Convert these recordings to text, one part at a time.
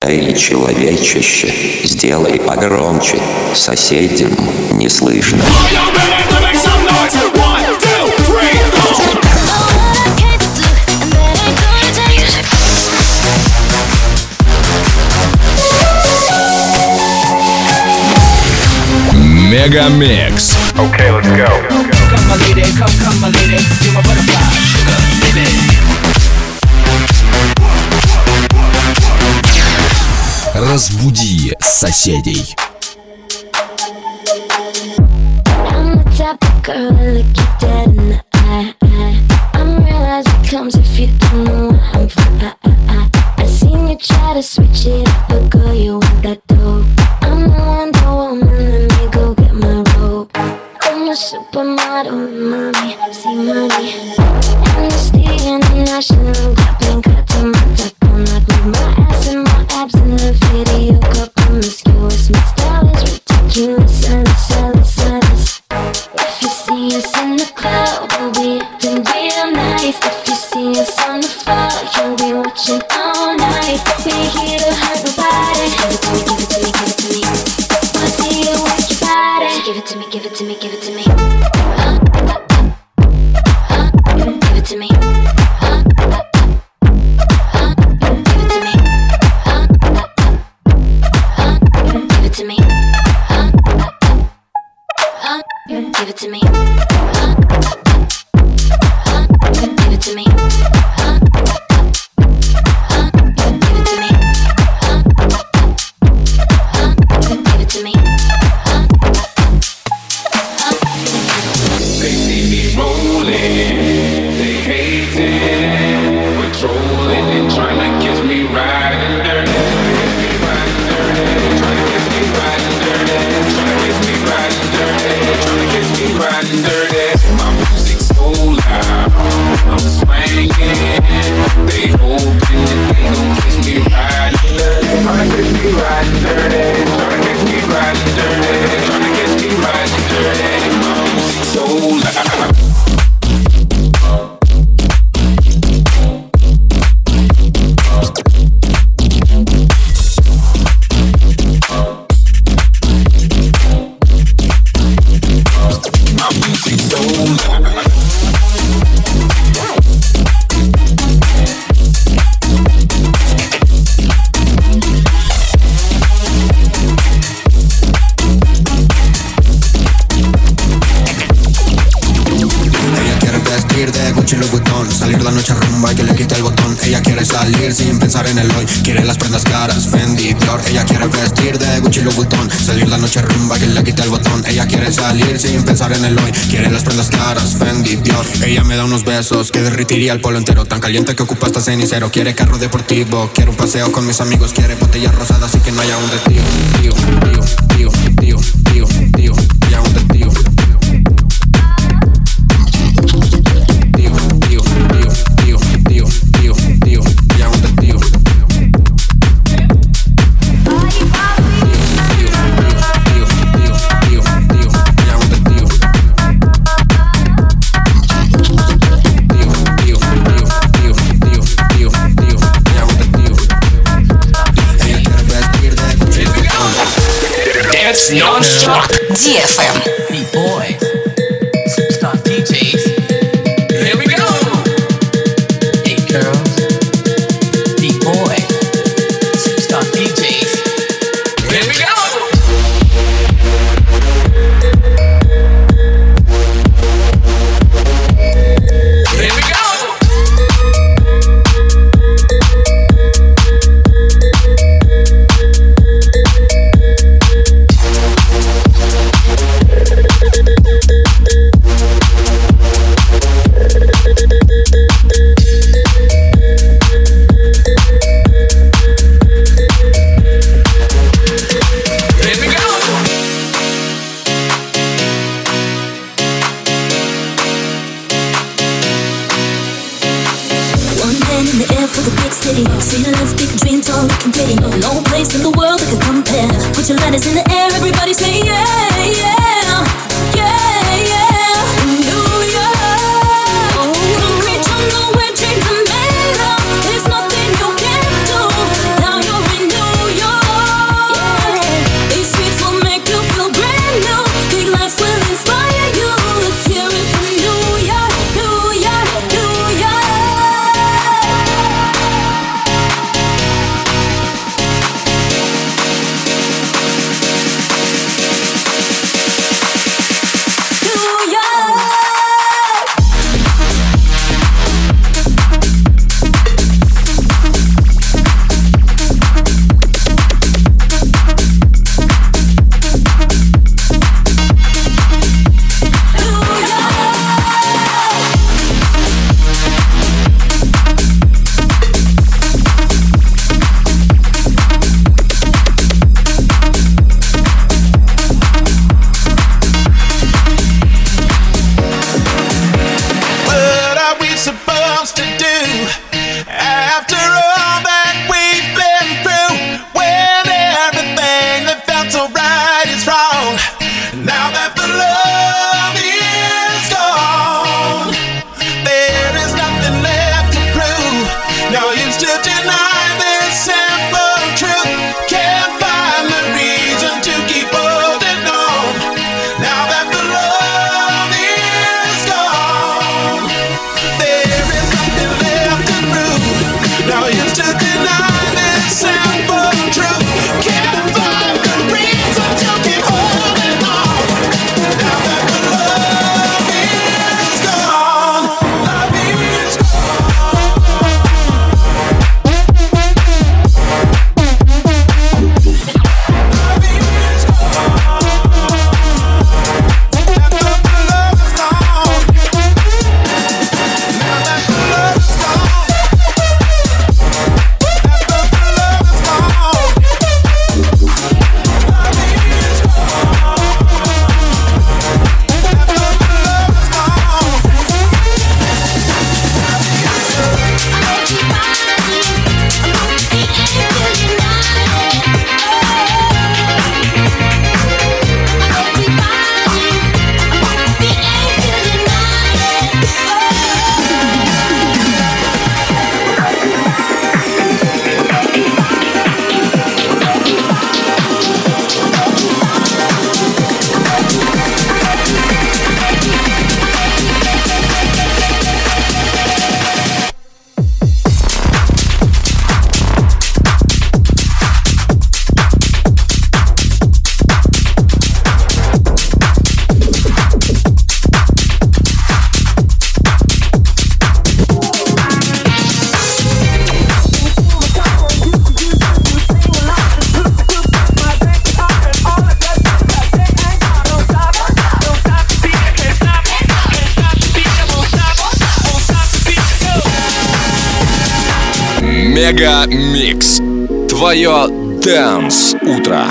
Эй, человечище, сделай погромче, соседям не слышно. Мегамикс. Okay, let's go. Come my lady, come my lady, you're my butterfly, sugar, baby. Разбуди соседей. I'm the type of girl that look you dead in the eye. I'm real as it comes if you don't know where I'm from. I seen you try to switch it up, but girl, you want that dope. I'm the Wonder Woman, let me go get my robe. I'm a supermodel, mommy, see money. Amnesty International, got pink cut to my top. I'm not with my ass and my abs in the video, got promiscuous. My style is ridiculous, and it's if you see us in the club, we'll be acting real nice. If you see us on the floor, you'll be watching all night. We're here to hurt nobody. Give it to me, give it to me, give it to me. Wanna see you work your body. So give it to me, give it to me, give it to me. Give it to me. Give it to me. Give it to me. Give it to me. Give it to me. Give it to me. Give it to me. They see me rolling, they hating, patrolling and trying to catch me riding dirty. Trying to catch me riding dirty. Trying to catch me riding dirty. Trying to catch me riding dirty. My music's so loud, I'm swinging. They hoping that they gon' catch me riding dirty. Trying to catch me riding dirty. Trying to catch me riding dirty. Trying to catch me riding dirty. My music's so loud. Salir la noche a rumba y que le quite el botón. Ella quiere salir sin pensar en el hoy. Quiere las prendas caras, Fendi, Dior. Ella quiere vestir de Gucci, Louis Vuitton. Salir la noche a rumba y que le quite el botón. Ella quiere salir sin pensar en el hoy. Quiere las prendas caras, Fendi, Dior. Ella me da unos besos que derritiría el polo entero. Tan caliente que ocupa hasta cenicero. Quiere carro deportivo, quiere un paseo con mis amigos. Quiere botellas rosadas y que no haya un testigo. Tío, tío, tío, tío, tío, tío, haya un testigo. Non-stop. DFM. B-boy, superstar DJs. Here we go. Hey girls, B-boy, superstar DJs. Here we go. Here we go. Ceilings, big dreams, all looking pretty. No place in the world that could compare. Put your lighters in the air, everybody say yeah, yeah, yeah, yeah. In New York, concrete jungle where dreams are made of. There's nothing you can't do. Now you're in New Мега Микс. Твое Dance утро.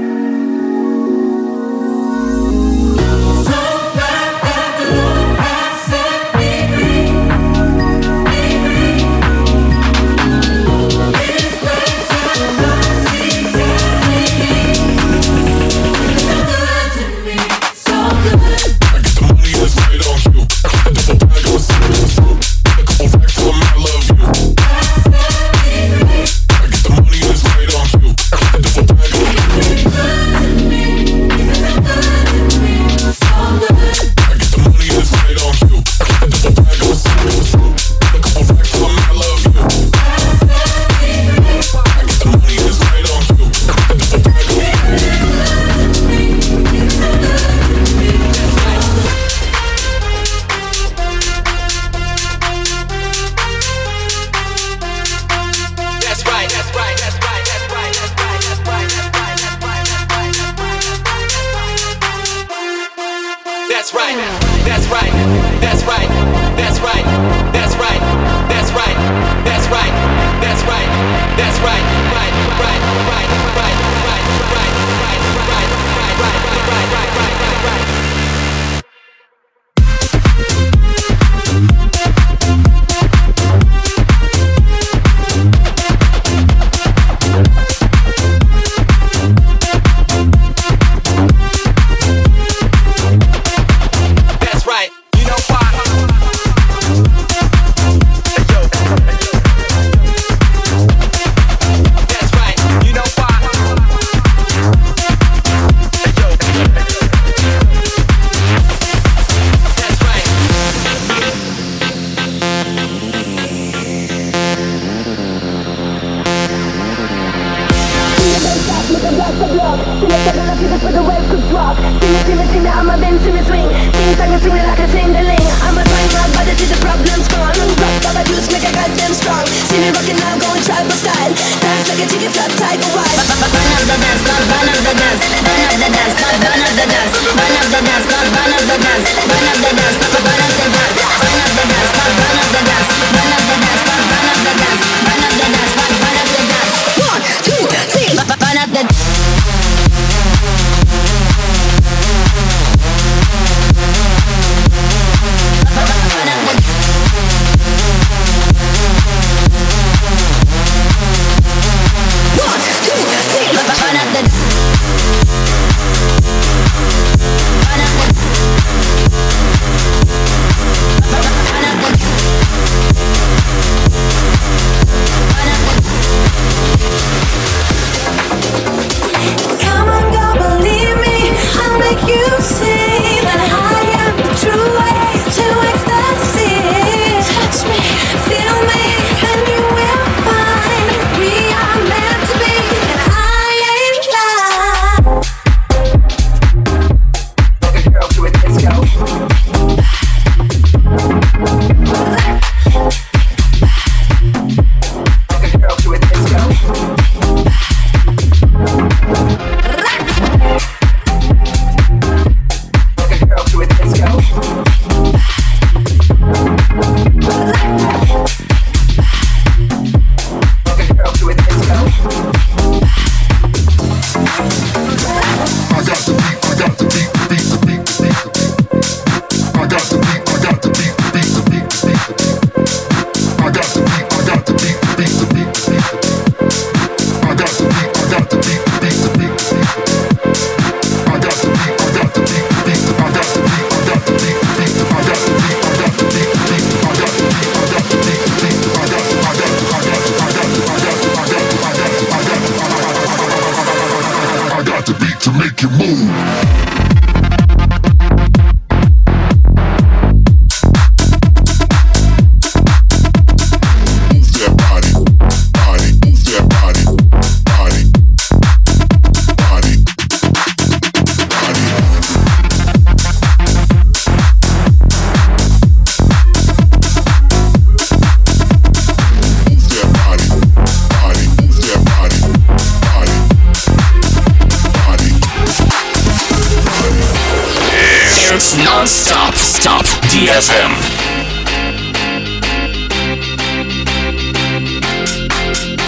Non-stop, stop, DFM.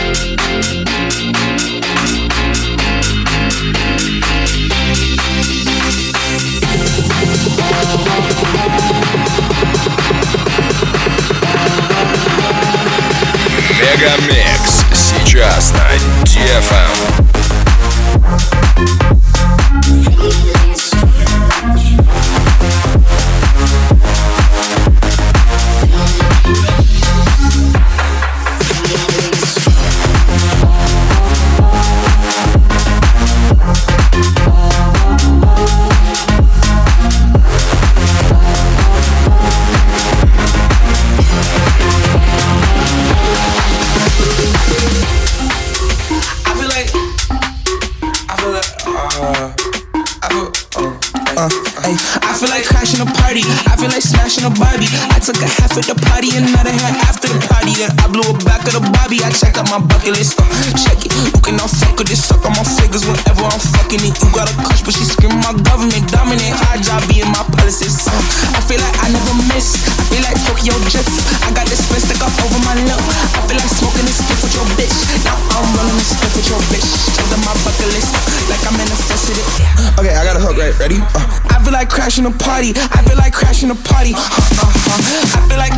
Мегамикс сейчас на DFM. I feel like crashing a party. I feel like smashing a Barbie. I took a half at the party, another half after the party. Then I blew a back of the Bobby. I checked out my bucket list. Check it. You can all fuck with this. Suck on my fingers whenever I'm fucking it. You got a crush, but she screaming my government. Dominate. Hard job being my policies. I feel like I never miss. I feel like Tokyo Drift. I got this spin stuck up over my lip. I feel like smoking this stiff with your bitch. Now I'm rolling this stiff with your bitch. Checked out my bucket list. Like I'm manifested it. Okay, I got a hook, right? Ready? I feel like crashing a party. I feel like crashing a party. I feel like.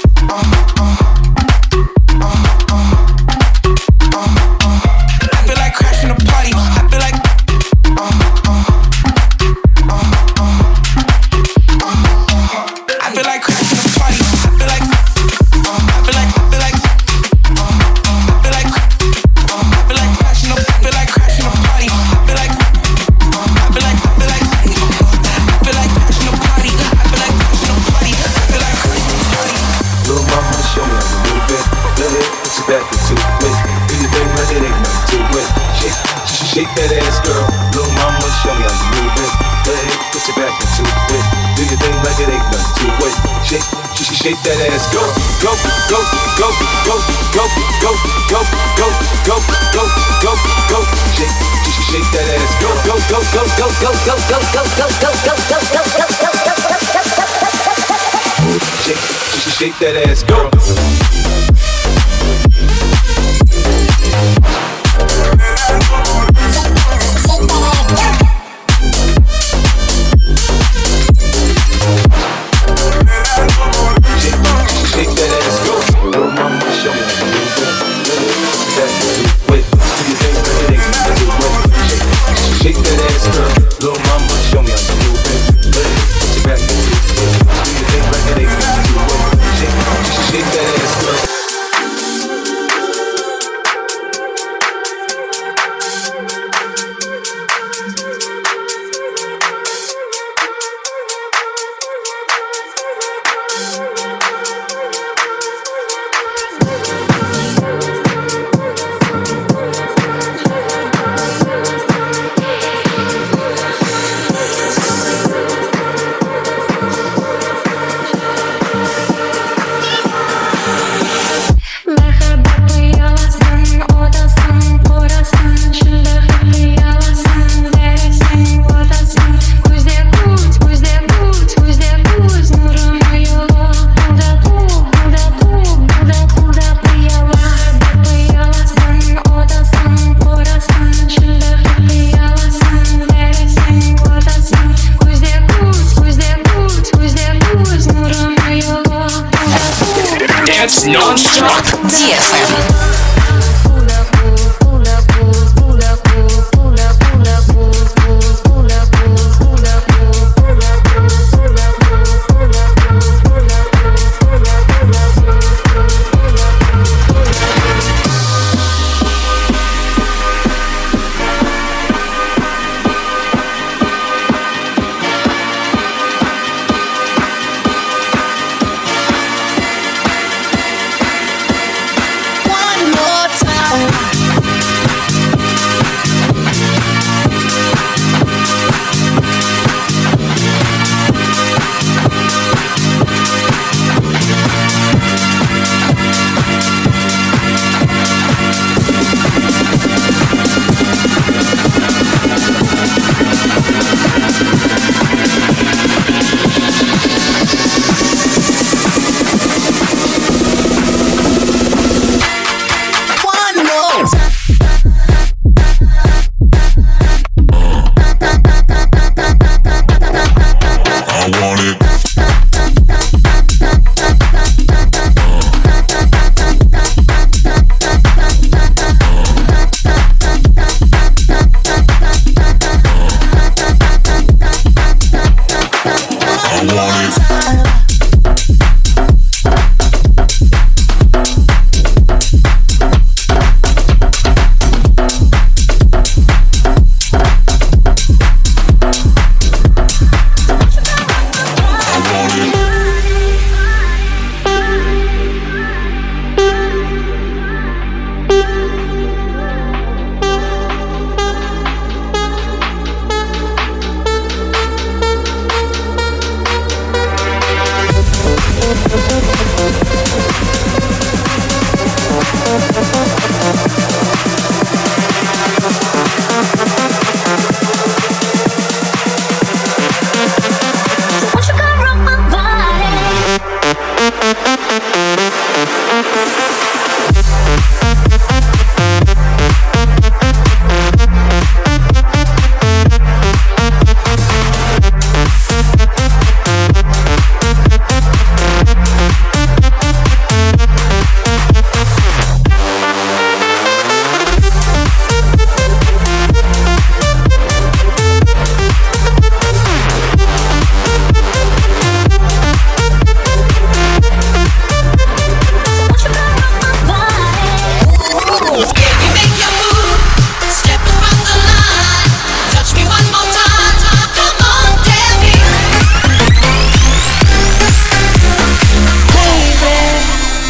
I feel like crashing a party. I feel like. I feel like crashing a party. I feel like. I feel like. I feel like. I feel like. I feel like crashing a. I feel like crashing a party. I feel like. I feel like. I feel like. I feel like crashing a party. I feel like crashing a party. I feel like crashing a party. Little mama, show me a little bit. Go ahead, put your back into it. Do your thing like it ain't nothing to it. Shake that ass, girl. Little mama, show me a little bit. Go ahead, put your back into it. Do your thing like it ain't nothing to it. Shake that ass, go, go, go, go, go, go, go, go, go, go, go, go, go. Shake that ass, go, go, go, go, go, go, go, go, go, go, go, go, go, go, go. Shake that ass, go. Shake that ass, go. Little mama, show me a little bit. That do it. Do you think that it ain't nothing to it? Shake that ass, girl. Little mama, show me a little bit. Put your back into it. Do you think like it ain't nothing to it? Shake that ass, girl. Non-stop DFM. One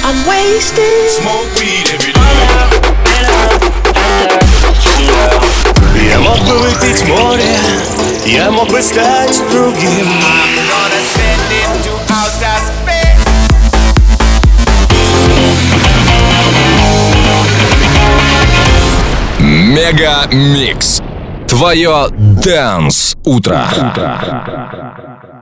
I'm wasted. Smoke weed every day. Я мог бы выпить море, я мог бы стать другим. I'm gonna send him to outer space. Мега Микс. Твое Dance утро.